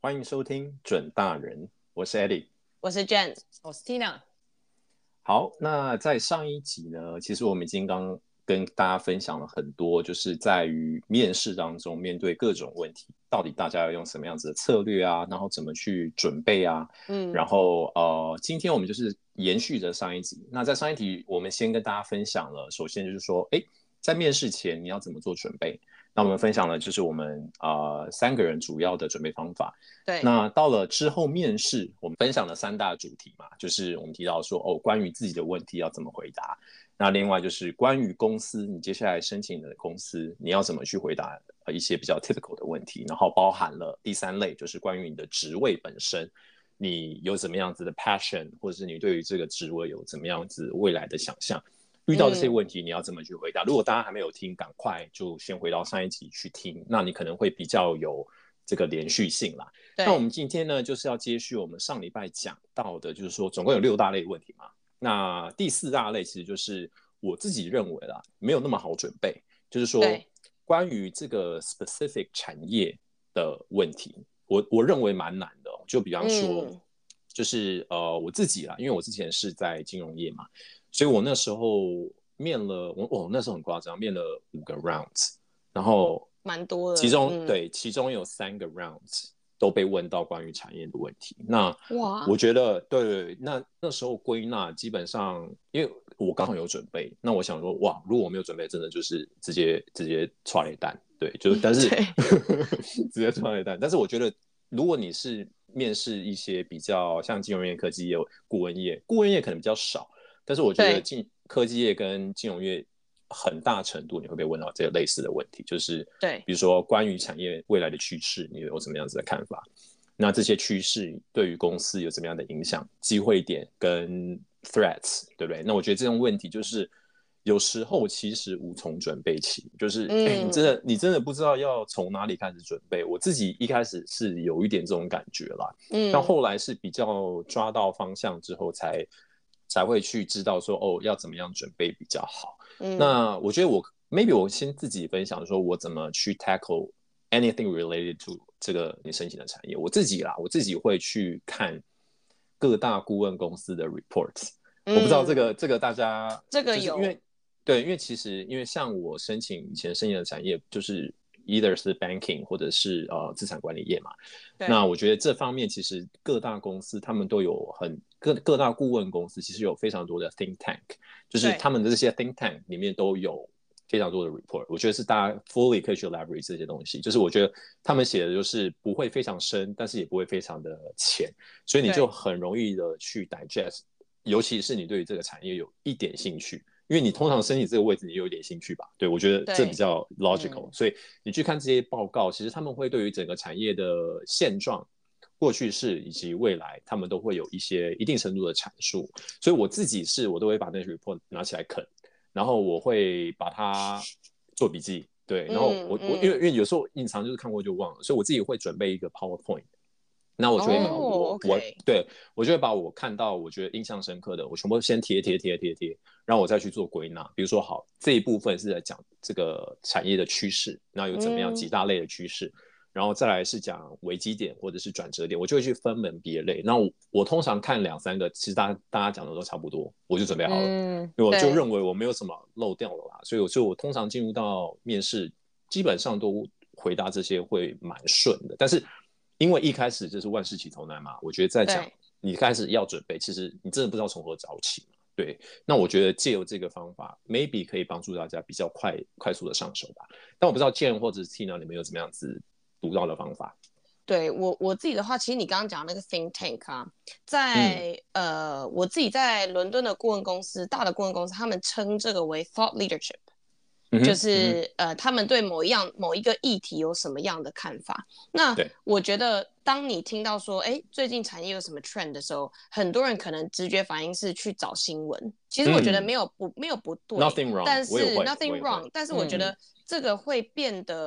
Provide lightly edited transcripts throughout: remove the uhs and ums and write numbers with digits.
歡迎收聽準大人，我是 Eddie， 我是 Jen， 我是 Tina。 好，那在上一集呢，其實我们已經剛跟大家分享了很多，就是在於面試當中面對各種問題，到底大家要用什麼樣子的策略啊，然後怎麼去準備啊，然後今天我們就是延續着上一集。那在上一集我們先跟大家分享了，首先就是說，在面試前你要怎麼做準備？那我們分享了就是我們3個人主要的準備方法。 對。 那到了之後面試，我们分享了3大主題嘛，就是我們提到說關於自己的問題要怎麼回答。那另外就是關於公司，你接下來申請的公司你要怎麼去回答一些比較 typical 的問題，然後包含了第3類，就是關於你的職位本身，你有怎麼樣子的 passion， 或者是你對於這個職位有怎麼樣子未來的想象。遇到這些問題你要怎麼去回答？如果大家還沒有聽，趕快就先回到上一集去聽，那你可能會比較有這個連續性啦。那我們今天呢，就是要接續我們上禮拜講到的，就是說總共有6大類問題嘛。那第4大類其實就是我自己認為啦，沒有那麼好準備，就是說關於這個 specific 產業的問題，我認為蠻難的。就比方說，就是我自己啦，因為我之前是在金融業嘛。所以我那時候面了，我那時候很誇張，面了5個 rounds， 然後蠻多的。 其中有3個 rounds 都被問到關於產業的問題。那我覺得，對，那時候歸納基本上，因為我剛好有準備，那我想說，哇，如果我沒有準備，真的就是直接剉咧等，對，就是但是直接剉咧等。但是我覺得，如果你是面試一些比較像金融業、科技業、顧問業可能比較少。但是我覺得科技業跟金融業很大程度你會被問到這個類似的問題，就是比如說關於產業未來的趨勢，你有什麼樣子的看法？那這些趨勢對於公司有什麼樣的影響？機會點跟 threats， 對不對？那我覺得這種問題就是有時候其實無從準備起，就是你真的不知道要從哪裡開始準備。我自己一開始是有一點這種感覺啦，但後來是比較抓到方向之後才會去知道說要怎麼樣準備比較好。那我覺得maybe 我先自己分享說我怎麼去 tackle anything related to 這個你申請的產業。我自己會去看各大顧問公司的 reports。我不知道這個大家這個有， 因為其實因為像我以前申請的產業就是either 是 banking 或者是資產管理業嘛。那我覺得這方面其實各大公司他們都有各大顧問公司其實有非常多的 think tank， 就是他們的這些 think tank 裡面都有非常多的 report。我覺得是大家 fully 可以去 leverage 這些東西，就是我覺得他們寫的就是不會非常深，但是也不會非常的淺，所以你就很容易的去 digest， 尤其是你對於這個產業有一點興趣。因為你通常申請這個位置，你有一點興趣吧？對，我覺得這比較 logical，所以你去看這些報告，其實他們會對於整個產業的現狀、過去式以及未來，他們都會有一定程度的闡述。所以我自己我都會把那些 report 拿起來啃，然後我會把它做筆記。對，然後因為有時候隱藏就是看過就忘了，所以我自己會準備一個 PowerPoint。那我就會把我就會把我看到我覺得印象深刻的，我全部先貼，然後我再去做歸納。比如說，好，這一部分是在講這個產業的趨勢，那有怎麼樣幾大類的趨勢，然後再來是講危機點或者是轉折點，我就會去分門別類。那我通常看2-3個，其實大家講的都差不多，我就準備好了，因為我就認為我沒有什麼漏掉了啦，所以我通常進入到面試，基本上都回答這些會蠻順的，但是。因為一開始就是萬事起頭難嘛，我覺得在講你開始要準備，其實你真的不知道從何找起嘛。對，那我覺得借由這個方法 ，maybe 可以幫助大家比較快速的上手吧。但我不知道 Jen 或者是 Tina 你們有怎麼樣子獨到的方法？ 對我自己的話，其實你剛剛講那個 think tank 啊，我自己在倫敦的顧問公司，大的顧問公司，他們稱這個為 thought leadership。就是他們對某一個議題有什麼樣的看法？那我覺得，當你聽到說，最近產業有什麼 trend 的時候，很多人可能直覺反應是去找新聞。其實我覺得沒有不對 ，nothing wrong， 但是 nothing wrong，但是我覺得這個會變得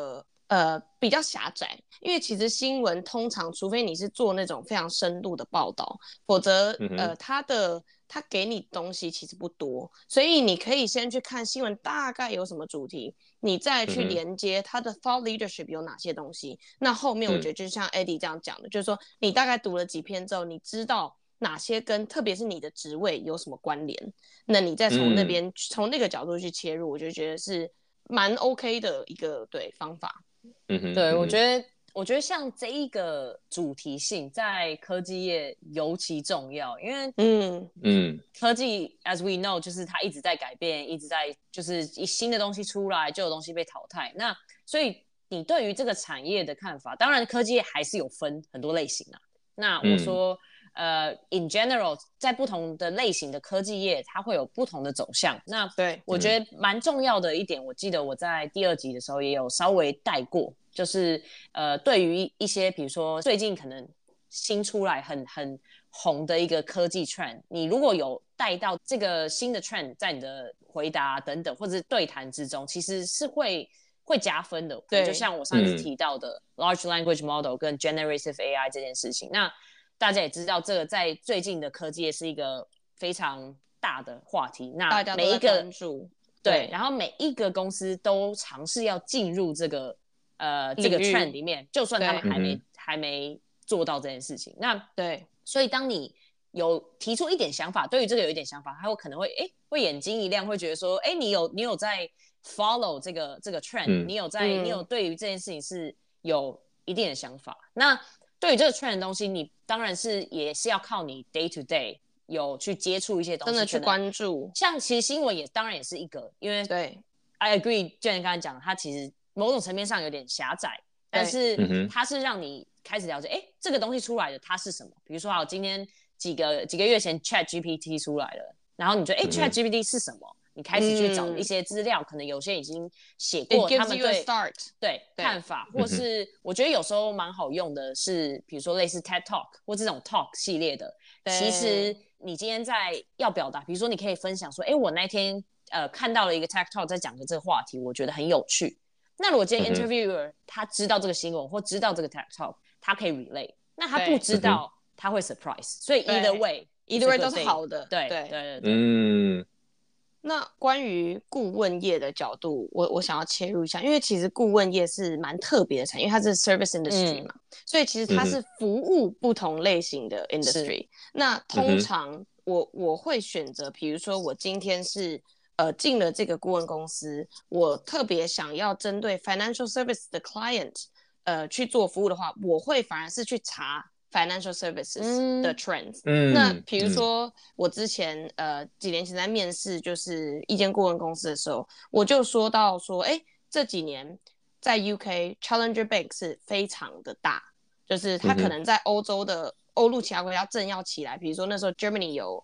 比較狹窄，因為其實新聞通常，除非你是做那種非常深度的報道，否則他給你東西其實不多，所以你可以先去看新聞大概有什麼主題，你再去連接他的 thought leadership 有哪些東西。那後面我覺得就像 Eddie 這樣講的，就是說你大概讀了幾篇之後，你知道哪些跟特別是你的職位有什麼關聯，那你再從那邊從那個角度去切入，我就覺得是蠻 OK 的一個對方法。 對，我覺得像這一個主題性在科技業尤其重要，因為科技 as we know 就是它一直在改变，一直在就是新的東西出來，舊的東西被淘汰。那所以你对於這個產業的看法，當然科技業還是有分很多類型啊。那我說in general 在不同的類型的科技業它会有不同的走向。那对我覺得蠻重要的一點，我記得我在第2集的時候也有稍微帶過，就是對於一些比如說最近可能新出來很紅的一個科技 trend， 你如果有帶到這個新的 trend 在你的回答等等或者是对談之中，其實是會加分的。对，就像我上次提到的large language model 跟 generative AI 这件事情，那大家也知道这個在最近的科技業是一個非常大的話題，那每一個大家都在關注，對，然後每一個公司都嘗試要進入這個 trend 裡面，就算他們還沒做到這件事情。那對，所以當你有提出一點想法，對於這個有一點想法，他可能會眼睛一亮，會覺得說，你有在 follow 這個 trend，你有對於這件事情是有一定的想法。那對於這個 trend 的東西，你當然也是要靠你 day to day 有去接觸一些東西， 真的去關注。 像其實新聞當然也是一個，因為对 I agree， 就像你剛才講的，它其實某種層面上有點狹窄，但是它是讓你開始了解，這個東西出來的它是什麼？比如說好，今天幾個月前 ChatGPT 出來了，然後你覺得ChatGPT 是什麼？你開始去找一些資料，可能有些已經寫過他們對看法，或是我覺得有時候蠻好用的是，比如說類似 TED Talk 或這種 Talk 系列的。其實你今天在要表達，比如說你可以分享說，我那天看到了一個 TED Talk 在講的這個話題，我覺得很有趣。那如果今天 interviewer 他知道這個新聞或知道這個 TED Talk， 他可以 relate。那他不知道，他會 surprise。所以 either way 都是好的。 對。 那關於顧問業的角度，我想要切入一下，因為其實顧問業是蠻特別的產業，因為它是 service industry 嘛，所以其實它是服務不同類型的 industry。那通常我會選擇，比如說我今天是進了這個顧問公司，我特別想要針對 financial service 的 client 去做服務的話，我會反而是去查financial services 的 trends。那比如說我之前幾年前在面試就是一間顧問公司的時候，我就說到說，這幾年在 UK Challenger Bank 是非常的大，就是它可能在歐洲的歐陸其他國家正要起來，比如說那時候 Germany 有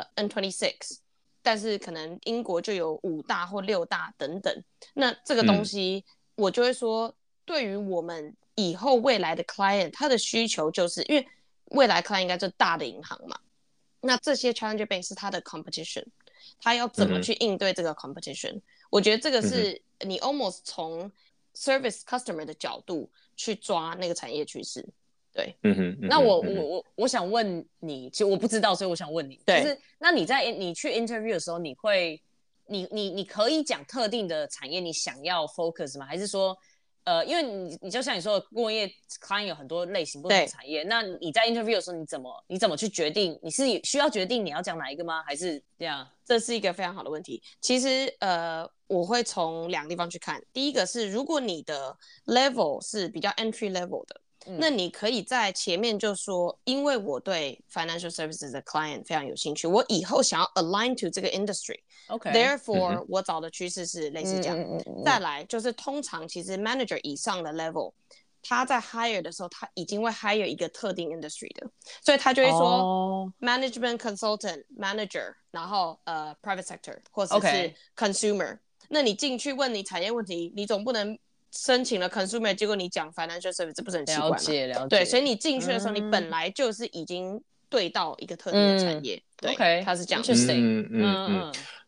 N26， 但是可能英國就有5大或6大等等。那這個東西我就會說，對於我們以後未來的 client， 他的需求就是因為未來 client 應該就是大的銀行嘛，那這些 challenger bank 是他的 competition， 他要怎麼去應對這個 competition？我覺得這個是你 almost 從 service customer 的角度去抓那個產業趨勢。對， 那我想問你，其實我不知道，所以我想問你，就是那你去 interview 的時候，你可以講特定的產業你想要 focus 嗎？還是說因為你就像你說的，顧問業 client 有很多類型不同的產業，那你在 interview 的時候，你怎麼去決定？你是需要決定你要講哪一個嗎？還是這樣？ 這是一個非常好的問題。其實我會從2個地方去看。第一個是，如果你的 level 是比較 entry level 的，那你可以在前面就說，因為我對 financial services 的 client 非常有興趣，我以後想要 align to 這個 industry。Therefore，我找的趨勢是類似這樣。再來就是通常其實 manager 以上的 level， 他在 hire 的時候，他已經會 hire 一個特定 industry 的，所以他就會說management consultant manager， 然後private sector 或者是 consumer。那你進去問你產業問題，你總不能申請了 consumer， 結果你講 financial service， 這不是很奇怪嗎？ 了解。 對，所以你進去的時候，你本來就是已經對到一個特定的產業。對，它是這樣。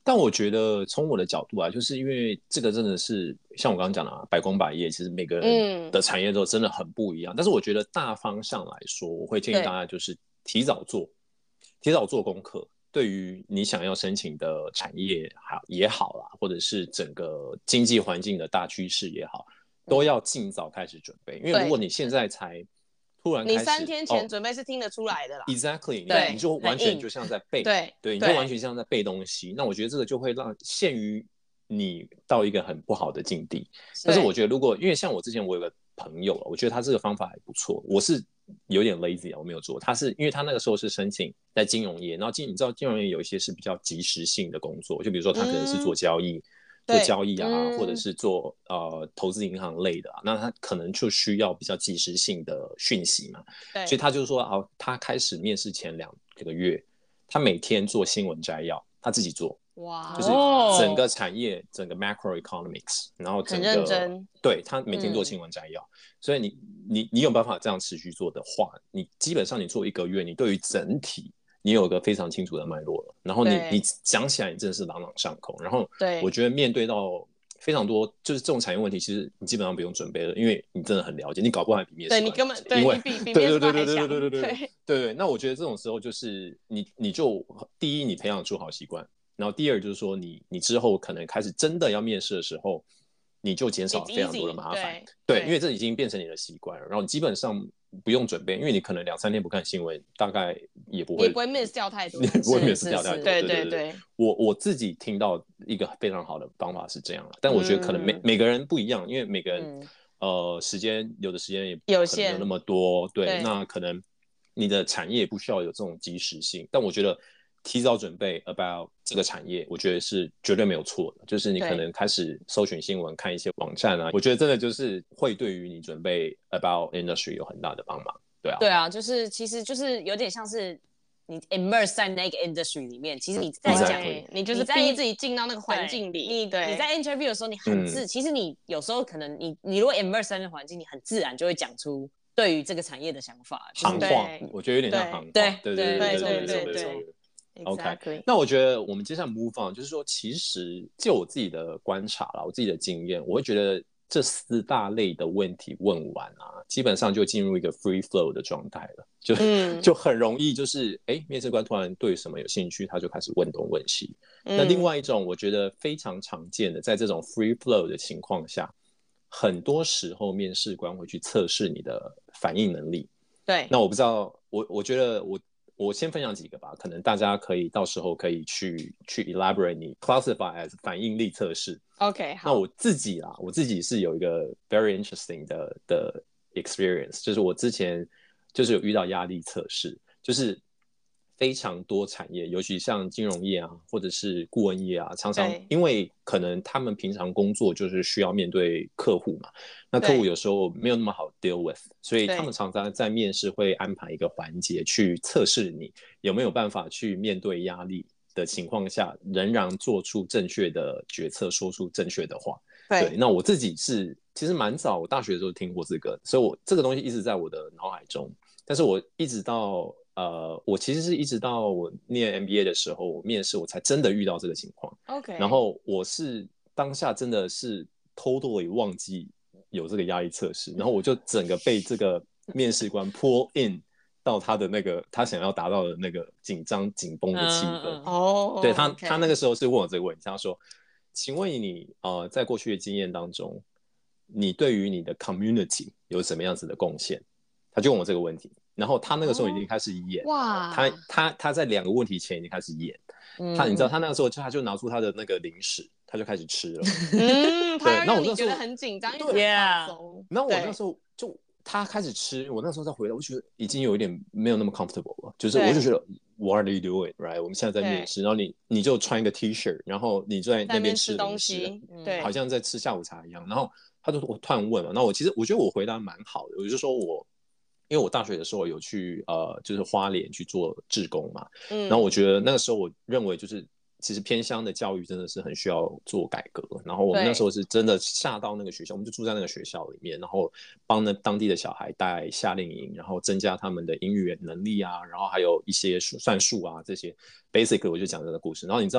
但我覺得從我的角度啊，就是因為這個真的是像我剛剛講的百工百業，其實每個人的產業都真的很不一樣。但是我覺得大方向來說，我會建議大家就是提早做功課。對於你想要申請的產業也好啦，或者是整個經濟環境的大趨勢也好，都要盡早開始準備。因為如果你現在才突然開始， 你3天前準備是聽得出來的啦。 Exactly， 你就完全就像在背，对，你就完全像在背東西。那我覺得这個就會陷於你到一個很不好的境地。但是我覺得因為像我之前我有個朋友，我覺得他這個方法還不錯。我是有點 lazy 我沒有做。他是因為他那個時候是申請在金融業，然後你知道金融業有一些是比較即時性的工作，就比如說他可能是做交易。或者是做投資銀行類的那他可能就需要比較即時性的讯息嘛，所以他就說他開始面試前2個月，他每天做新聞摘要，他自己做，哇，就是整個產業整個 macroeconomics， 然后整個很認真，对，他每天做新聞摘要，所以你有辦法這樣持續做的話，你基本上你做1個月，你對於整體你有一個非常清楚的脈絡了，然後你講起來你真的是朗朗上口，然後我覺得面對到非常多就是這種產業問題，其實你基本上不用準備了，因為你真的很了解，你搞不好還比面試官， 對，你根本对，你比面試官還強， 对，那我覺得這種時候就是你就第一你培養出好習慣，然後第二就是說你之後可能開始真的要面試的時候，你就減少非常多的麻煩，對，因為這已經變成你的習慣了，然後你基本上不用準備，因為你可能2-3天不看新聞，大概也不會 miss 掉太多，你不会 miss 掉太多。对，我自己聽到一個非常好的方法是這樣，但我覺得可能每個人不一樣，因為每個人時間有的時間也有限，沒有那麼多，對，那可能你的產業不需要有這種即時性，但我覺得提早準備 about 這個產業，我覺得是絕對沒有錯的。就是你可能開始搜尋新聞，看一些網站啊，我覺得真的就是會對於你準備 about industry 有很大的幫忙。對啊， 就是其實就是有點像是你 immerse 在那個 industry 裡面，其實你在講， 你就是逼自己進到那個環境裡。你在 interview 的時候，你很其實你有時候可能你如果 immerse 在那個環境，你很自然就會講出對於這個產業的想法。 行話，我覺得有點像行話。對。OK， 那我覺得我們接下來 move on， 就是說，其實就我自己的觀察啦，我自己的經驗，我會覺得這4大類的問題問完啊，基本上就進入一個 free flow 的狀態了，就很容易就是面試官突然對什麼有興趣，他就開始問東問西。那另外一種我覺得非常常見的，在這種 free flow 的情況下，很多時候面試官會去測試你的反應能力。 對， 那我不知道，我覺得我先分享幾個吧，可能大家可以到時候可以去 elaborate 你 classify as 反應力測試。 OK， 好。 那我自己是有一個 very interesting 的 experience， 就是我之前就是有遇到壓力測試，就是非常多產業，尤其像金融業啊，或者是顧問業啊，常常因為可能他們平常工作就是需要面對客戶嘛，那客戶有時候沒有那麼好 deal with， 所以他們常常在面試會安排一個環節去測試你有沒有辦法去面對壓力的情況下，仍然做出正確的決策，說出正確的話。对，那我自己是其實蠻早，我大學的時候聽過這個，所以我這個東西一直在我的腦海中，但是我一直到我其實是一直到我念 MBA 的時候，我面試我才真的遇到這個情況。 OK， 然後我是當下真的是 totally 忘記有這個壓力測試，然後我就整個被這個面試官 pull in 到他的那個他想要達到的那個緊張緊繃的氣氛。對，他那個時候是問我這個問題，他說：“請問你在過去的經驗當中，你對於你的 community 有什麼樣子的貢獻？”他就問我這個問題。然後他那個時候已經開始演，他在2個問題前已經開始演，你知道他那個時候他就拿出他的那個零食，他就開始吃了。 他讓你覺得很緊張，因為很放鬆。 然後我那時候就他開始吃，我那時候再回來，我覺得已經有一點沒有那麼 comfortable 了，就是我就覺得 What are you doing, right？ 我們現在在面試，然後你就穿一個 T-shirt， 然後你就在那邊吃東西，好像在吃下午茶一樣。然後他就我突然問嘛，那我覺得我回答蠻好的，我就說因為我大學的時候有去就是花蓮去做志工嘛，然後我覺得那個時候我認為就是其實偏鄉的教育真的是很需要做改革，然後我們那時候是真的下到那個學校，我們就住在那個學校裡面，然後幫當地的小孩帶夏令營，然後增加他們的英語能力啊，然後還有一些算術啊這些 basically 我就講這個故事。然後你知道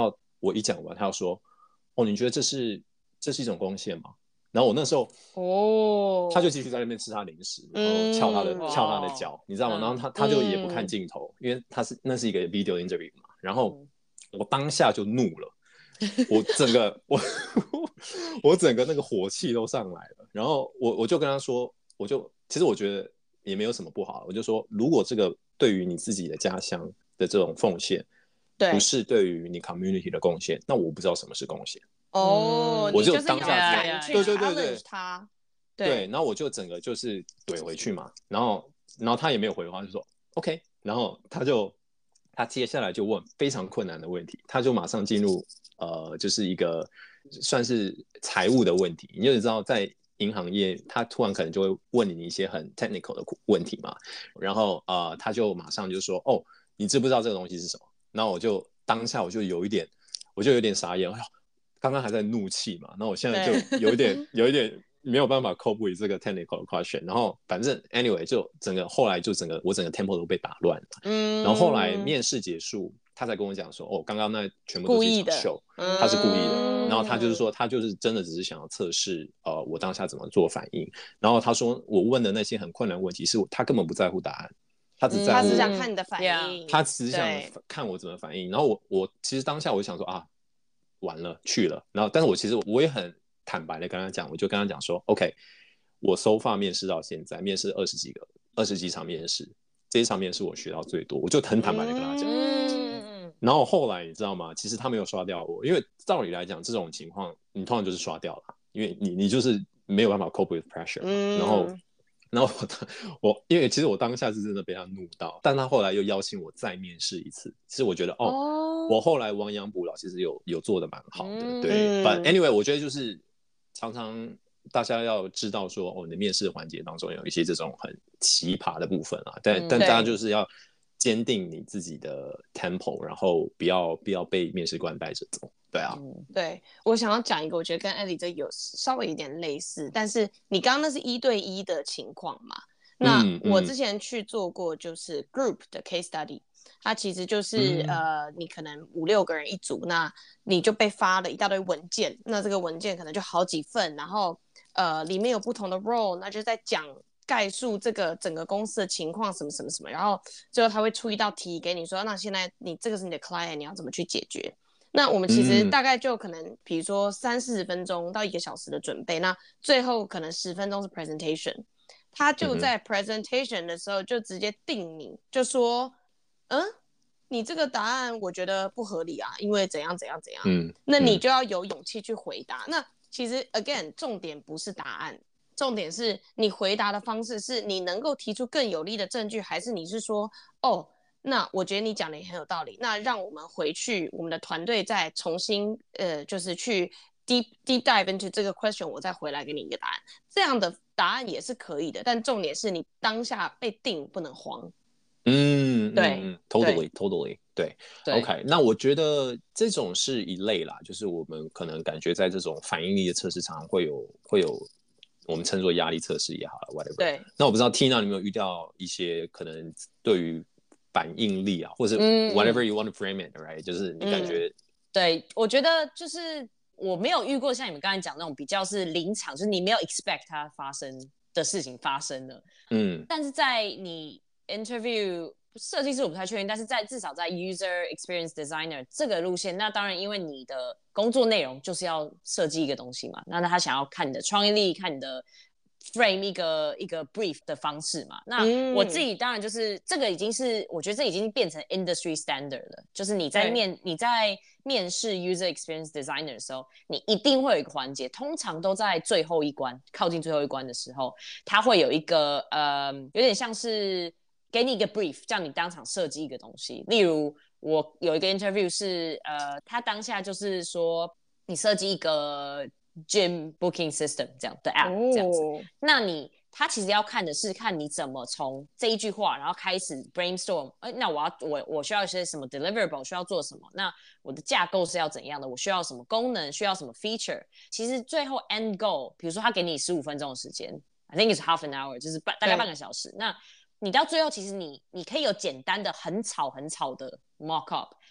我一講完，他要說，哦，你覺得這是一種貢獻嗎？然後我那時候，他就繼續在那邊吃他零食，然後翹他的腳，你知道嗎？然後他就也不看鏡頭，因為那是一個 video interview 嘛。然後我當下就怒了，我整個那個火氣都上来了。然後我就跟他說，其實我覺得也沒有什麼不好，我就說，如果這個對於你自己的家鄉的這種奉獻，不是对于你 community 的貢献，那我不知道什麼是貢獻。 我就當下去 challenge 他， 对，然後我就整個就是怼回去嘛，然後他也沒有回話，就說 OK， 然後他接下來就問非常困難的問題，他就馬上進入就是一個算是財務的問題，你就知道在銀行業，他突然可能就會問你一些很 technical 的問題嘛，然後他就馬上就說，哦，你知不知道這個東西是什麼？然後當下我就有一點傻眼，剛剛還在怒氣嘛，然後我現在就有一點沒有辦法 cope with 這個 technical question， 然後反正 anyway 就後來就我整個 tempo 都被打亂了，然後後來面試結束，他才跟我講說，哦，剛剛那全部都是一場秀，他是故意的，然後他就是說他就是真的只是想要測試我當下怎麼做反應，然後他說我問的那些很困難的問題是他根本不在乎答案。他只想看你的反應， 他只想看我怎麼反應。然後我其實當下我就想說啊，完了去了。然後，但是我其實我也很坦白的跟他講，我就跟他講說 ，OK， 我 so far 面試到現在，面試20幾場面試，這一場面試我學到最多，我就很坦白的跟他講。然後後來你知道嗎？其實他沒有刷掉我，因為照理來講這種情況你通常就是刷掉了，因為你就是沒有辦法 cope with pressure 嘛。然後我因為其實我當下是真的被他怒到，但他後來又邀請我再面試一次。其實我覺得我後來亡羊補牢，其實有做的蠻好的，对。But anyway， 我覺得就是常常大家要知道說，你的面試環節當中有一些這種很奇葩的部分啊，但大家就是要堅定你自己的 tempo， 然後不要被面試官帶着走。对啊， 对，我想要講一個，我覺得跟 Ellie 這有稍微有點類似，但是你剛剛那是1對1的情況嘛？那我之前去做過就是 group 的 case study， 它其實就是你可能5、6個人一組，那你就被發了一大堆文件，那這個文件可能就好幾份，然後裡面有不同的 role， 那就在講概述這個整個公司的情況什麼什麼什麼，然後最後他會出一道題給你說，那現在你這個是你的 client， 你要怎麼去解決？那我們其實大概就可能比如說30-40分鐘到1個小時的準備，那最後可能10分鐘是 presentation， 他就在 presentation 的時候就直接定你，就說你這個答案我覺得不合理啊，因為怎樣怎樣怎樣，那你就要有勇氣去回答。那其實 again 重點不是答案，重點是你回答的方式是你能夠提出更有力的證據，還是你是說那我覺得你講的也很有道理，那讓我們回去我們的團隊再重新就是去 deep dive into 這個 question， 我再回來給你一個答案，這樣的答案也是可以的，但重點是你當下被定不能慌。对 ，totally， 对 ，OK， 那我覺得這種是一類啦，就是我們可能感覺在這種反應力的測試常常會有我們稱作壓力測試也好了 ，whatever。對，那我不知道 Tina 你有沒有遇到一些可能對於反應力啊，或者 whatever you want to frame it， right？ 就是你感覺， 对，我覺得就是我沒有遇過像你們剛才講那種比較是臨場，就是你沒有 expect 它發生的事情發生了，但是在你 interview 設計師我不太確定，但是至少在 user experience designer 這個路線，那當然因為你的工作內容就是要設計一個東西嘛，那他想要看你的創意力，看你的frame 一個 brief 的方式嘛，那我自己當然就是這個已經是我覺得這已經變成 industry standard 了，就是你在面試 user experience designer 的時候，你一定會有一個環節，通常都在最後一關，靠近最後一關的時候，它會有一個有點像是給你一個 brief， 叫你當場設計一個東西。例如我有一個 interview 是他當下就是說你設計一個gym booking system 這樣的 app 這樣子，那他其實要看的是看你怎麼從這一句話，然後開始 brainstorm，那我需要一些什麼 deliverable， 需要做什麼？那我的架構是要怎樣的？我需要什麼功能？需要什麼 feature？ 其實最後 end goal， 比如說他給你15分鐘的時間 ，I think it's half an hour， 就是大概半個小時。那你到最後其實你可以有簡單的很草的 mock up，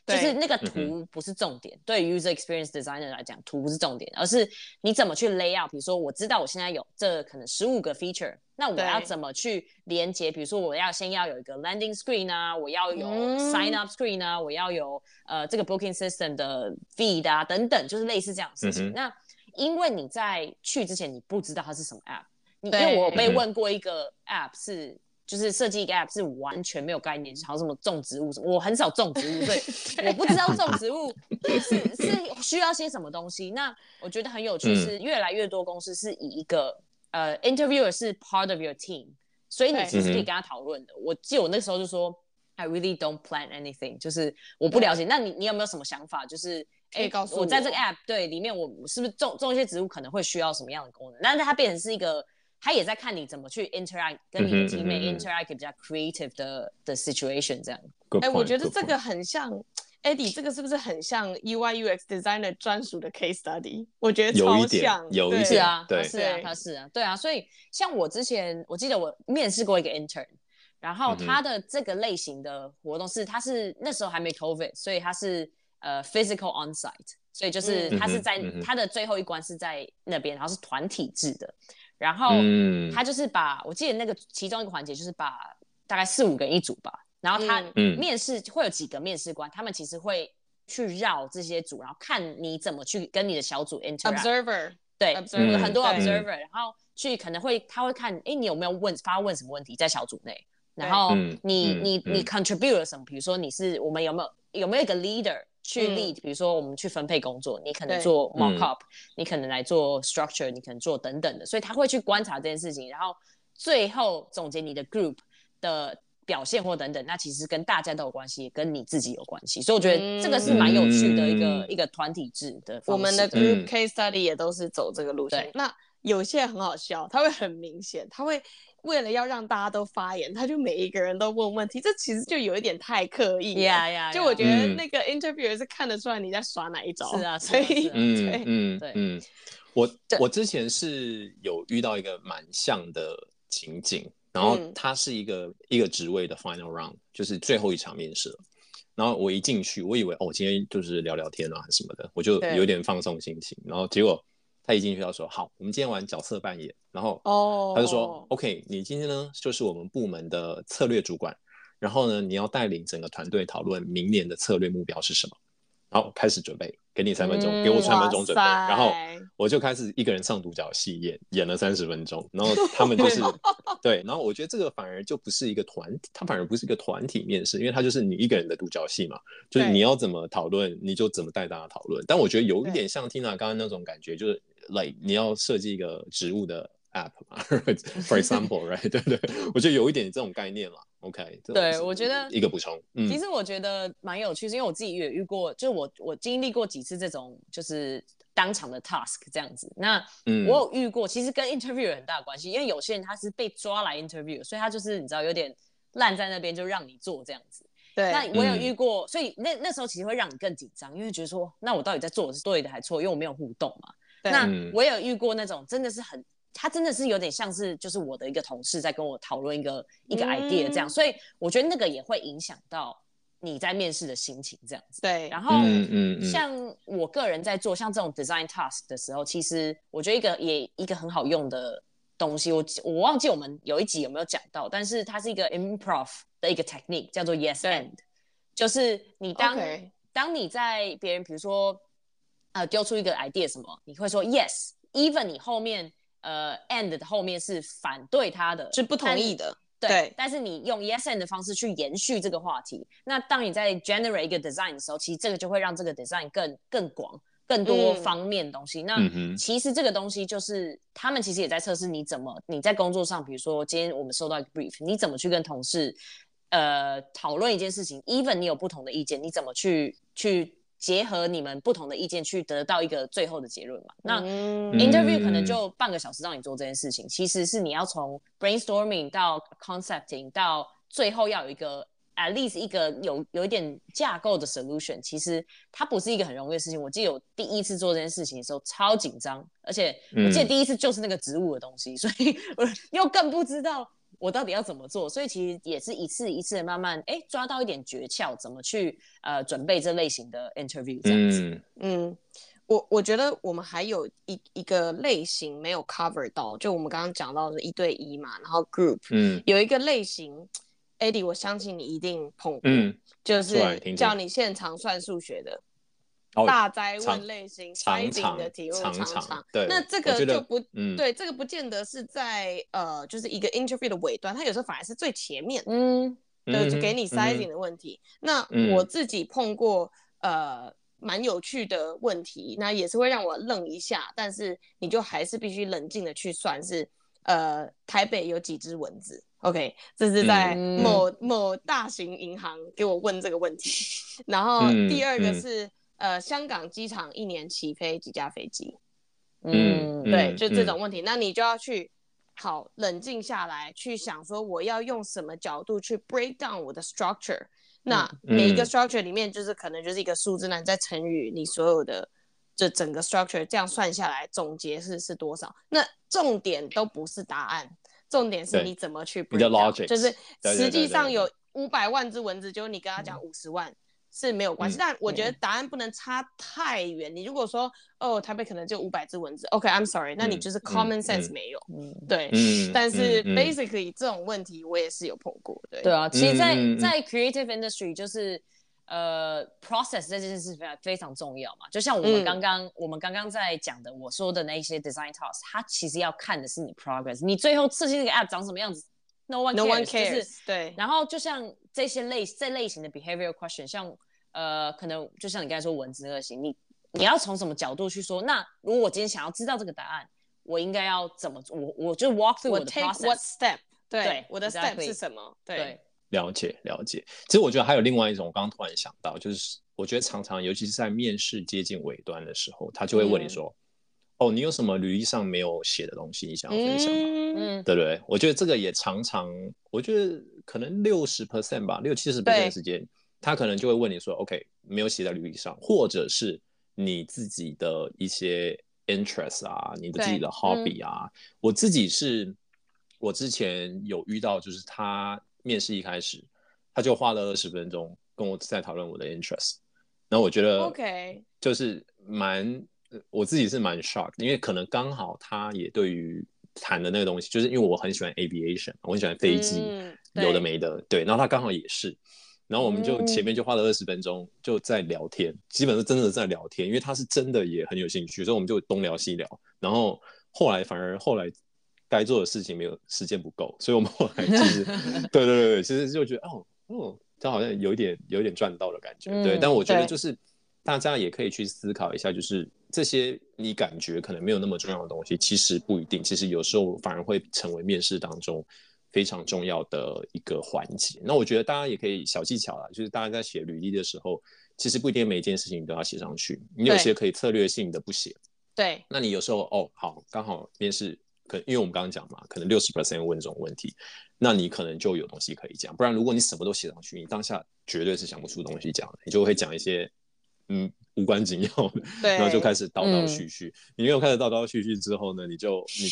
就是那個圖不是重點，對於 user experience designer 來講，圖不是重點，而是你怎麼去 lay out。比如說，我知道我現在有這可能15個 feature， 那我要怎麼去連接？比如說，我先要有一個 landing screen 啊，我要有 sign up screen 啊，我要有這個 booking system 的 feed 啊等等，就是類似這樣的事情。那因為你在去之前你不知道它是什麼 app， 因為我被問過一個 app 是。就是設計一個 app 是完全沒有概念，好像什麼種植物什麼，我很少種植物，所以我不知道種植物是需要些什麼東西。那我覺得很有趣是，越來越多公司是以一個interviewer 是 part of your team， 所以你其實可以跟他討論的。我記得我那時候就說 I really don't plan anything， 就是我不了解。那你有沒有什麼想法？就是告訴我在這個 app 對裡面，我是不是種一些植物可能會需要什麼樣的功能？但是它變成是一個。他也在看你怎麼去 interact， 跟你的 teammate interact 比較 creative 的 situation 這樣。 我覺得這個很像 Eddie， 這個是不是很像 UI UX designer 專屬的 case study？ 我覺得超像， 有一點， 是啊， 对， 他是啊，对啊。所以像我之前，我記得我面試過一個 intern， 然後他的這個類型的活動他是那時候還沒 COVID， 所以他是physical on-site， 所以就是他是在他的最後一關是在那邊，然後是團體制的。然後他就是我記得那個其中一個環節就是把大概4-5個人一組吧，然後他面試會有幾個面試官，他們其實會去繞這些組，然後看你怎麼去跟你的小組 interact。對，很多 observer， 然後去可能他會看，你有沒有發問什麼問題在小組內，然後你 contribute 了什麼，比如說我們有沒有一個 leader。去 lead， 比如說我們去分配工作，你可能做 mock up，你可能來做 structure， 你可能做等等的，所以他會去觀察這件事情，然後最後總結你的 group 的表現或等等，那其實跟大家都有關係，也跟你自己有關係，所以我覺得這個是蠻有趣的一個團體制的方式。 我們的 group case study 也都是走這個路線。那有些很好笑，他會很明顯，他會為了要讓大家都發言，他就每一個人都問問題，這其實就有一點太刻意了。就我覺得那個 interviewer 是看得出來你在耍哪一招。 是啊， 所以我之前是有遇到一個蠻像的情景，然後他是一個職位的 final round， 就是最後一場面試了。然後我一進去，我以為今天就是聊聊天啊什麼的，我就有點放鬆心情。然後結果他一進去他說好，我們今天玩角色扮演，然後他就說OK， 你今天呢就是我們部門的策略主管，然後呢你要帶領整個團隊討論明年的策略目標是什麼，然後開始準備，給你3分鐘，給我3分鐘準備，然後我就開始一個人上獨角戲演了30分鐘，然後他們就是对，然後我覺得这個反而就不是一個它反而不是一個團體面試，因為它就是你一個人的獨角戲嘛，就是你要怎麼討論你就怎麼帶大家討論。但我覺得有一點像 Tina 剛剛那種感覺，就是 like 你要設計一個職務的 app 嘛for example right 對對，我覺得有一點這種概念啦。OK， 對，我覺得一個補充。 其實我覺得蠻有趣，是因為我自己也遇過，就是我經歷過幾次這種就是當場的 task 這樣子。那我有遇過，其實跟 interview 有很大的關係，因為有些人他是被抓來 interview， 所以他就是你知道有點爛在那邊就讓你做這樣子。对，那我有遇過，所以那時候其實會讓你更緊張，因為覺得說那我到底在做的是對的還是錯，因為我沒有互動嘛。那我有遇過那種真的是他真的是有點像是就是我的一個同事在跟我討論一個 idea 這樣，所以我覺得那個也會影響到你在面試的心情這樣子。对，然後像我個人在做像這種 design task 的時候，其實我覺得一個很好用的東西，我忘記我們有一集有沒有講到，但是它是一個 improv 的一個 technique 叫做 yes and， 就是你當你在別人比如說丟出一個 idea 什麼，你會說 yes even 你後面and 的後面是反對他的， 是不同意的， 对，但是你用 yes and 的方式去延續這個話題，那當你在 generate 一個 design 的時候，其實這個就會讓這個 design 更廣、更多方面的東西。那其實這個東西就是他們其實也在測試你在工作上，比如說今天我們收到一個 brief， 你怎麼去跟同事討論一件事情 ，even 你有不同的意見，你怎麼去結合你們不同的意見去得到一個最後的結論嘛？那 interview 可能就半個小時讓你做這件事情，其實是你要從 brainstorming 到 concepting 到最後要有一個 at least 一個有一點架構的 solution， 其實它不是一個很容易的事情。我記得我第一次做這件事情的時候超緊張，而且我記得第一次就是那個職務的東西，所以我又更不知道我到底要怎麼做？所以其實也是一次一次的慢慢抓到一點訣竅，怎麼去準備這類型的 interview 這樣子。 我覺得我們還有一個類型沒有 cover 到，就我們剛剛講到的1對1嘛，然後 group，有一個類型 Eddie 我相信你一定碰過，就是叫你現場算數學的。大哉問類型，sizing的題目常， 对， 那這個就不，对，这個不見得是在就是一個 interview 的尾端，它有時候反而是最前面，對，就給你 sizing 的問題。那我自己碰過蠻有趣的問題，那也是會讓我愣一下，但是你就還是必須冷靜的去算是台北有幾隻蚊子。OK， 這是在某大型銀行給我問這個問題。然後第二個是香港機場1年起飛幾架飛機？對，就這種問題。那你就要去好冷靜下來，去想說我要用什麼角度去 break down 我的 structure。那每一個 structure 裡面就是可能就是一個數字，那你再乘以你所有的這整個 structure， 這樣算下來總結是多少？那重點都不是答案，重點是你怎麼去 break down， 就是實際上有500萬隻蚊子，就你跟他講50萬。是沒有關係，但我覺得答案不能差太遠。你如果說台北可能就500隻蚊子 ，OK，I'm sorry， 那你就是 common sense 沒有，對。但是 basically 這種問題我也是有碰過，對。 對啊，其實在 creative industry 就是process 這件事非常重要嘛。就像我們剛剛在講的，我說的那些 design tasks， 它其實要看的是你 progress， 你最後設計這個 app 長什麼樣子。No one cares， 就是對。 然後就像這類型的 behavioral question， 像可能就像你剛才說蚊子那個型，你要從什麼角度去说？那如果我今天想要知道這個答案，我應該要怎麼做？我就 walk through 我的 process， take what step？ 對，我的 step 是什麼？对，了解。 其實我覺得還有另外一種，我剛剛突然想到，就是我覺得常常，尤其是在面試接近尾端的時候，他就會問你說。你有什麼履歷上沒有寫的東西你想要分享嗎？對不對？我覺得這個也常常，我覺得可能60% 吧，60-70% 的時間，他可能就會問你說 ，OK， 沒有寫在履歷上，或者是你自己的一些 interest 啊，你的自己的 hobby 啊。我之前有遇到，就是他面試一開始，他就花了20分鐘跟我在討論我的 interest， 然後我覺得就是我自己是蠻 shocked， 因為可能剛好他也對於談的那個東西，就是因為我很喜歡 aviation， 我很喜歡飛機，有的沒的，對，然後他剛好也是，然後我們就前面就花了20分鐘就在聊天，基本上真的在聊天，因為他是真的也很有興趣，所以我們就東聊西聊，然後後來該做的事情沒有時間不夠，所以我們後來其實對，其實就覺得他好像有一點賺到的感覺，對，但我覺得就是大家也可以去思考一下，就是這些你感覺可能沒有那麼重要的東西，其實不一定，其實有時候反而會成為面試當中非常重要的一個環節。那我覺得大家也可以小技巧啦，就是大家在寫履歷的時候，其實不一定每一件事情都要寫上去，你有些可以策略性的不寫。对，那你有时候好，剛好面試，因為我們剛剛講嘛，可能60% 問這種問題，那你可能就有東西可以講。不然如果你什麼都寫上去，你當下絕對是講不出東西講的，你就會講一些無關緊要的，然後就開始叨叨絮絮。你沒有開始叨叨絮絮之後呢，你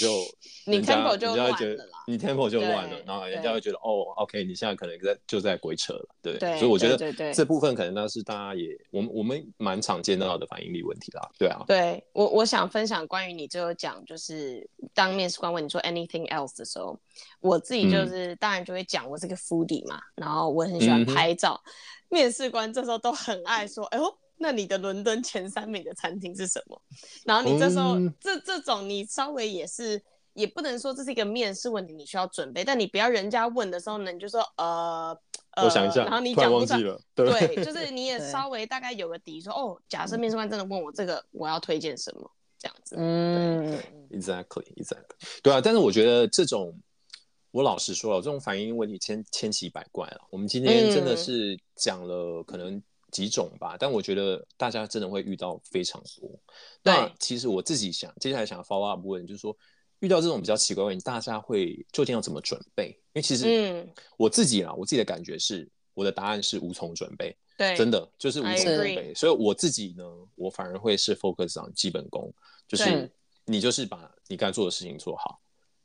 tempo 就亂了啦，你 tempo 就亂了，然後人家會覺得OK， 你現在可能就在鬼扯了，對。所以我覺得這部分可能那是大家也我們蠻常見到的反應力問題啦，对啊。 對，我想分享關於你最後講，就是當面試官問你說 anything else 的時候，我自己就是當然就會講我是個 foodie 嘛，然後我很喜歡拍照，面試官這時候都很愛說，哎呦。那你的倫敦前3名的餐廳是什麼？然後你這時候、這種你稍微也不能說這是一個面試問題，你需要準備，但你不要人家問的時候呢，你就說我想一下， 然後你講不出來， 對， 就是你也稍微大概有個底，說假設面試官真的問我這個，我要推薦什麼這樣子。 Exactly， 對啊，但是我覺得這種，我老實說了，這種反應問題千奇百怪了。我們今天真的是講了可能幾種吧，但我覺得大家真的會遇到非常多。那其實我自己接下來想 follow up 問，就是說遇到這種比較奇怪的問題，大家會究竟要怎麼準備？因為其實我自己的感覺是，我的答案是無從準備，對，真的就是無從準備。所以我自己呢，我反而會是 focus on 基本功，就是你就是把你該做的事情做好，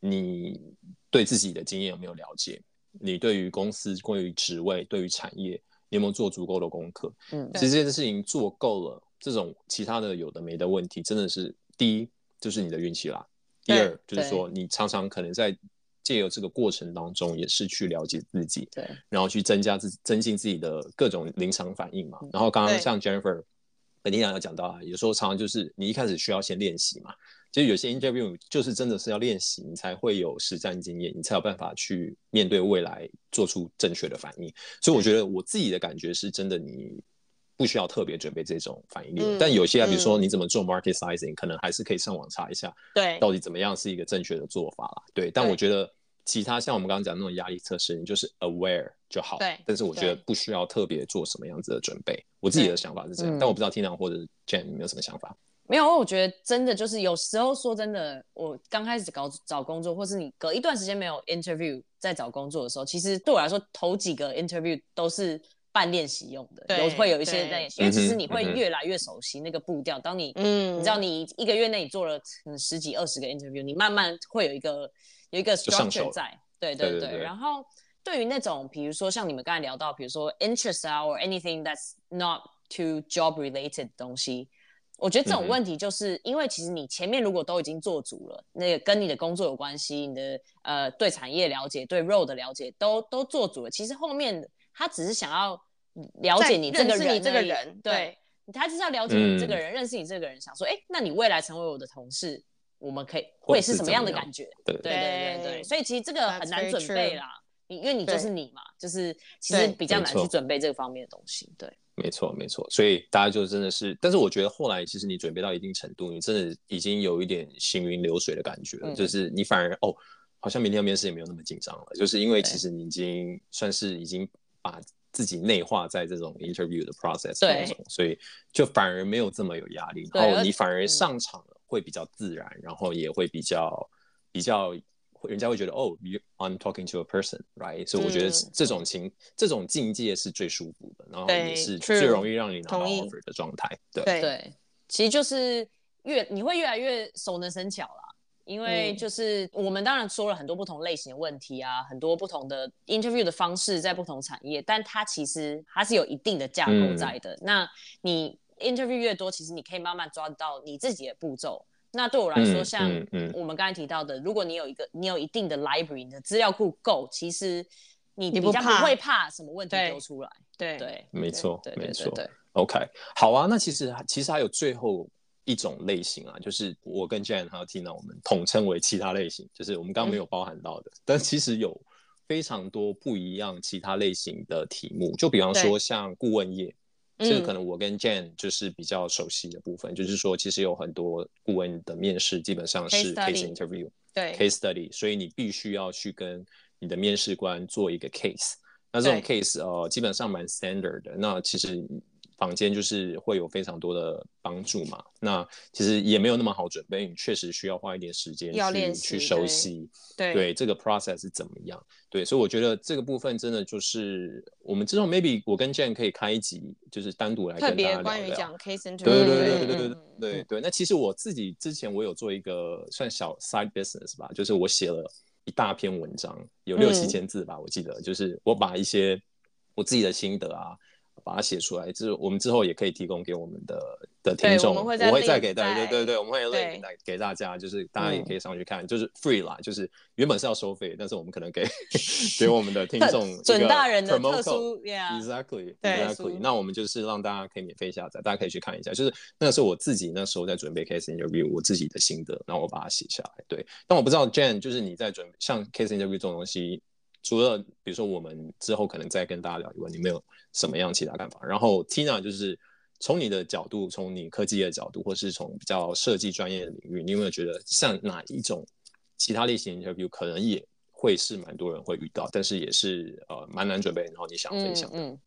你對自己的經驗有沒有了解？你對於公司、關於職位、對於產業，你有沒有做足夠的功課？其實這件事情做夠了，這種其他的有的沒的問題，真的是第一就是你的運氣啦。第二就是說，你常常可能在借由這個過程當中，也是去了解自己，然後去增進自己的各種臨場反應嘛。然後剛剛像 Jennifer 跟Tina有講到啊，有時候常常就是你一開始需要先練習嘛。其實有些 interview 就是真的是要練習，你才會有實戰經驗，你才有辦法去面對未來做出正確的反應。所以我覺得我自己的感覺是真的，你不需要特別準備這種反應力。但有些比如說你怎麼做 market sizing，可能還是可以上網查一下，到底怎麼樣是一個正確的做法啦。对，但我覺得其他像我們剛剛講的那種壓力測試，你就是 aware 就好。但是我覺得不需要特別做什麼樣子的準備。我自己的想法是這樣，但我不知道 Tina 或者 Jen 有沒有什麼想法。 沒有，我覺得真的就是有時候說真的，我剛開始找工作，或是你隔一段時間沒有 interview 在找工作的時候，其實對我來說頭幾個 interview 都是半練習用的，會有一些在練習，因為其實你會越來越熟悉那個步調。當你你知道你一個月内你做了10幾20個 interview， 你慢慢会有一個 structure 在，对。然後對於那種比如說像你們剛才聊到，比如說 interest 啊 or anything that's not to job related 的東西。我覺得這種問題就是因為其實你前面如果都已經做足了，那個跟你的工作有關係，你的對產業了解、對 role 的了解都做足了，其實後面他只是想要了解你這個人，对，他就是要了解你這個人，認識你這個人，想說，那你未來成為我的同事，我們會是什麼樣的感覺？对，所以其實這個很難準備啦，因為你就是你嘛，就是其實比較難去準備這個方面的東西，對。 沒錯，所以大家就真的是，但是我覺得後来其實你準備到一定程度，你真的已經有一點行雲流水的感覺了，就是你反而好像明天要面試也沒有那麼緊張了，就是因為其實你已經算是已經把自己內化在這種 interview 的 process 當中，所以就反而沒有這麼有壓力，然後你反而上場了會比較自然，然後也會比較人家會覺得I'm talking to a person, right？ 所以我覺得這種境界是最舒服的，然後也是最容易讓你拿到 offer 的狀態。 对，其實就是你會越來越熟能生巧啦，因為就是我們當然說了很多不同類型的問題啊，很多不同的 interview 的方式在不同產業，但它其實它是有一定的架構在的。那你 interview 越多，其實你可以慢慢抓到你自己的步驟。那對我來說，像我們剛才提到的，如果你有一定的 library， 你的資料庫夠，其實你比較不會怕什麼問題丟出来。对， 沒錯。OK， 好啊。那其實還有最後一種類型啊，就是我跟 Jen 還有 Tina 我們統稱為其他類型，就是我們剛剛沒有包含到的，但其實有非常多不一樣其他類型的題目，就比方說像顧問業。這個可能我跟 Jen 就是比較熟悉的部分，就是說其實有很多顧問的面試基本上是 case interview， case study， 所以你必須要去跟你的面試官做一個 case， 那這種 case 基本上蠻 standard 的，那其實坊間就是會有非常多的幫助嘛，那其實也沒有那麼好準備，你確實需要花一點時間去熟悉，對這個 process 是怎麼樣，對，所以我覺得這個部分真的就是我們之後 maybe 我跟 Jen 可以開一集，就是單獨來跟大家聊聊，特別關於講 case interview，對，那其實我自己之前我有做一個算小 side business 吧，就是我寫了一大篇文章，有6、7千字吧，我記得，就是我把一些我自己的心得啊。把它寫出来，就是我們之後也可以提供给我们的聽眾，我会再給大家，对，我們會 link 給大家，就是大家也可以上去看，就是 free 啦，就是原本是要收費，但是我們可能給我們的聽眾一個準大人的特殊 ，exactly， 那我們就是讓大家可以免費下載，大家可以去看一下，就是那個是我自己那時候在準備 case interview 我自己的心得，然後我把它寫下來，對，但我不知道 Jen 就是你在準備像 case interview 這種東西。除了比如說我們之後可能再跟大家聊以外，你沒有什麼樣其他看法？然後 Tina 就是從你的角度，從你科技的角度，或是從比較設計專業的領域，你有沒有覺得像哪一種其他類型的 interview 可能也會是蠻多人會遇到，但是也是蠻難準備，然後你想分享的？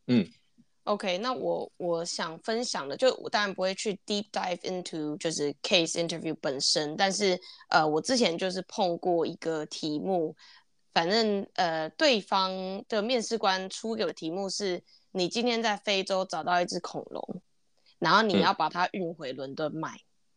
OK， 那我想分享的，就我當然不會去 deep dive into 就是 case interview 本身，但是我之前就是碰過一個題目。反正對方的面試官出給我的題目是：你今天在非洲找到一隻恐龍，然後你要把它運回倫敦賣。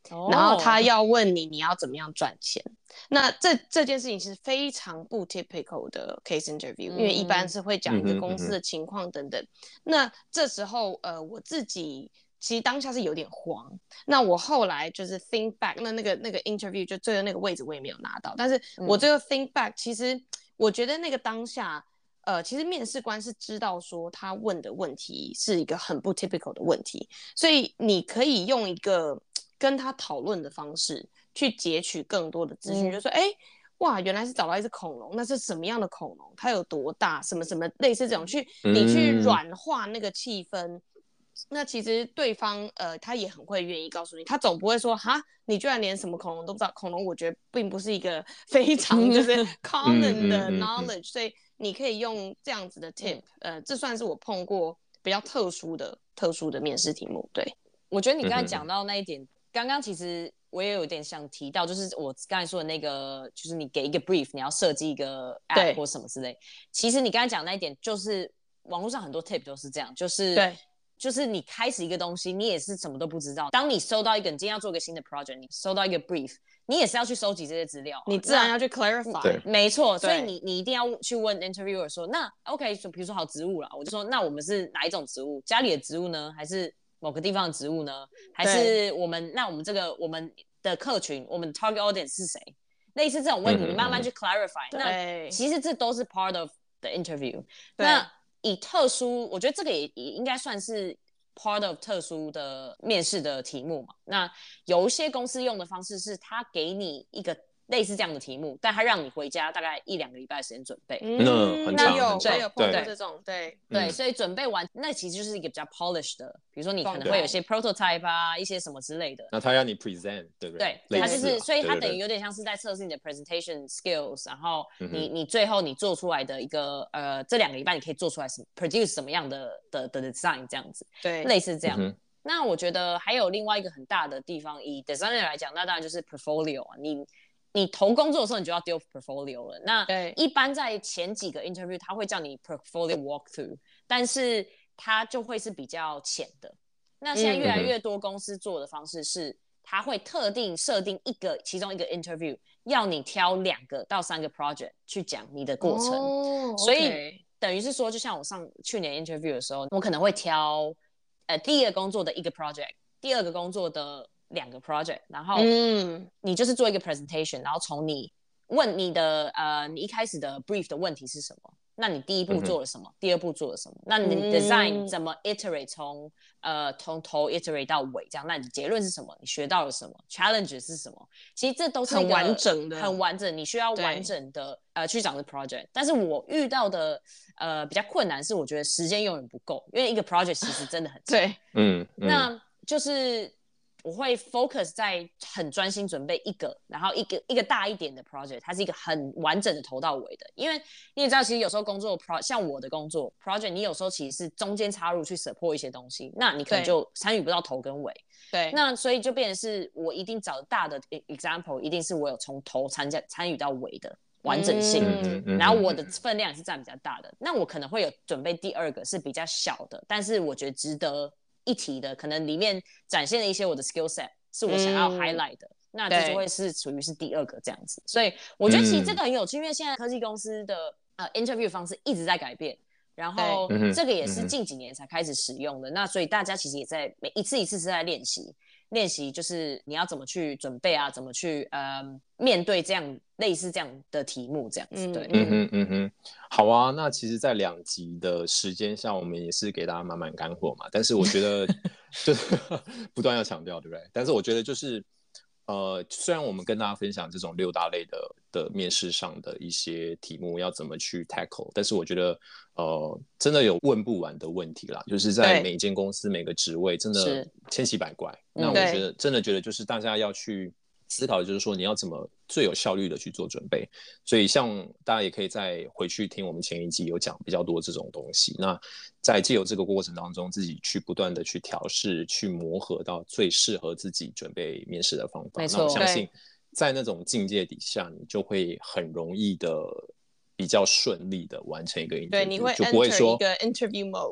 然後他要問你要怎麼樣賺錢。那這件事情是非常不 typical 的 case interview，因為一般是會講一個公司的情況等等。那這時候我自己其實當下是有點慌。那我後來就是 think back， 那個 interview 就最後那個位置我也沒有拿到，但是我最後 think back，其實我覺得那個當下其實面試官是知道說他問的問題是一個很不 typical 的問題，所以你可以用一個跟他討論的方式去截取更多的資訊，就說哇，原來是找到一隻恐龍，那是什麼樣的恐龍？它有多大？什麼什麼類似這種，你去軟化那個氣氛。那其實對方他也很會願意告訴你，他總不會說哈，你居然連什麼恐龍都不知道。恐龍我覺得並不是一個非常就是 common 的 knowledge，所以你可以用這樣子的 tip，這算是我碰過比較特殊的面試題目。對， 我覺得你剛才講到那一點，剛剛其實我也有點想提到，就是我剛才說的那個，就是你給一個 brief， 你要設計一個 app 或什麼之類。其實你剛才講那一點，就是網絡上很多 tip 都是這樣，就是對。就是你開始一個東西，你也是什麼都不知道。當你收到一個，你今天要做一個新的 project， 你收到一個 brief， 你也是要去收集這些資料， 你自然要去 clarify。 沒錯，所以你一定要去問 interviewer 說，那 OK， 比如說好植物啦，我就說那我們是哪一種植物？家裡的植物呢？還是某個地方的植物呢？還是我們這個我們的客群，我們的 target audience 是誰？類似這種問題，你慢慢去 clarify。那其實這都是 part of the interview。那以特殊，我覺得這個也應該算是 part of 特殊的面試的題目嘛。那有一些公司用的方式是，他給你一個類似這樣的題目，但他讓你回家大概1-2個禮拜的時間準備。 那有碰到這種，對， 所以準備完，那其實就是一個比較 polished 的，比如說你可能會有一些 prototype 啊，一些什麼之類的。 那他要你 present， 对不對？ 对，他就是，所以他等於有點像是在測試你的 presentation skills， 然後你最後你做出來的一個這2個禮拜你可以做出來produce 什麼樣的 design 這樣子，對，類似這樣。那我覺得還有另外一個很大的地方，以 designer 來講，那當然就是 portfolio 啊，你投工作的時候，你就要丟 portfolio 了。那一般在前幾個 interview， 他會叫你 portfolio walkthrough， 但是它就會是比較淺的。那現在越來越多公司做的方式是，他會特定設定其中一個 interview， 要你挑2個到3個 project 去講你的過程。所以等於是說，就像我去年 interview 的時候，我可能會挑第一個工作的1個 project， 第2個工作的2個 project， 然後你就是做一個 presentation， 然後從你問你的你一開始的 brief 的問題是什麼，那你第一步做了什麼，第2步做了什麼，那你 design 怎麼 iterate 從頭 iterate 到尾這樣，那你結論是什麼，你學到了什麼 challenge 是什麼，其實這都是一個很完整，你需要完整的去講的 project。但是我遇到的比較困難是，我覺得時間永遠不夠，因為一個 project 其實真的很長。对，那就是我會 focus 在很專心準備一個，然後一個大一點的 project， 它是一個很完整的頭到尾的。因為你也知道，其實有時候工作像我的工作 project， 你有時候其實是中間插入去 support 一些東西，那你可能就參與不到頭跟尾。對，那所以就變成是我一定找大的 example， 一定是我有從頭參與到尾的完整性，然後我的分量也是佔比較大的。那我可能會有準備第2個是比較小的，但是我覺得值得一提的，可能裡面展現了一些我的 skill set 是我想要 highlight 的，那這就會是屬於是第2個這樣子。所以我覺得其實這個很有趣，因為現在科技公司的interview 方式一直在改變，然後這個也是近幾年才開始使用的。那所以大家其實也在每一次是在練習，就是你要怎麼去準備啊，怎麼去面對這樣類似這樣的題目這樣子。对， 好啊。那其實在2集的時間下，我們也是給大家滿滿乾貨嘛。但是我覺得就是不斷要強調，对不对？但是我覺得就是雖然我們跟大家分享這種6大類的面試上的一些題目要怎麼去 tackle， 但是我覺得真的有問不完的問題啦，就是在每一間公司每個職位真的千奇百怪。那我真的覺得就是大家要去思考的就是說你要怎麼最有效率的去做準備，所以像大家也可以再回去听我們前一集有講比較多這種東西，那在藉由這個過程當中自己去不斷的去調試去磨合到最適合自己準備面試的方法。那我相信在那種境界底下你就會很容易的比較順利的完成一個 interview， 對，你會就不會說 enter 一個 interview mode。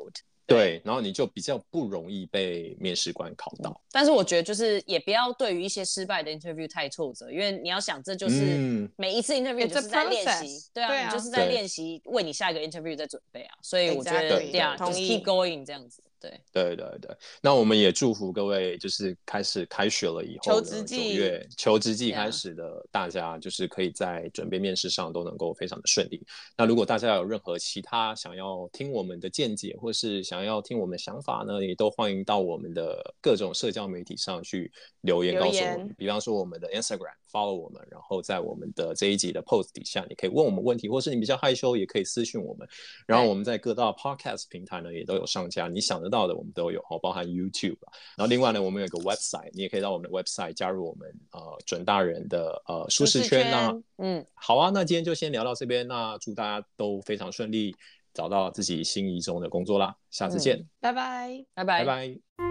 對，然後你就比較不容易被面試官考到。 但是我覺得就是也不要对於一些失敗的 interview 太挫折，因為你要想這就是每一次 interview 就是在練習，对啊，你就是在練習为你下一個 interview 在準備啊，所以我覺得對啊，就是 keep going 這樣子。 對，那我們也祝福各位，就是開學了以後的9月求職季開始的大家，就是可以在準備面試上都能夠非常的順利。那如果大家有任何其他想要聽我们的見解，或是想要聽我們的想法呢，也都歡迎到我們的各種社交媒體上去留言告訴我們。比方說我們的 Instagram follow 我們，然後在我們的這一集的 post 底下，你可以問我們問題，或是你比較害羞也可以私訊我們。然後我們在各大 podcast 平台呢也都有上架，你想得到的我们都有，包含 YouTube。然後另外呢，我們有一個 website， 你也可以到我們的 website 加入我們準大人的舒適圈啊。好啊，那今天就先聊到這邊，那祝大家都非常順利，找到自己心儀中的工作啦。下次見， 拜拜， 拜拜。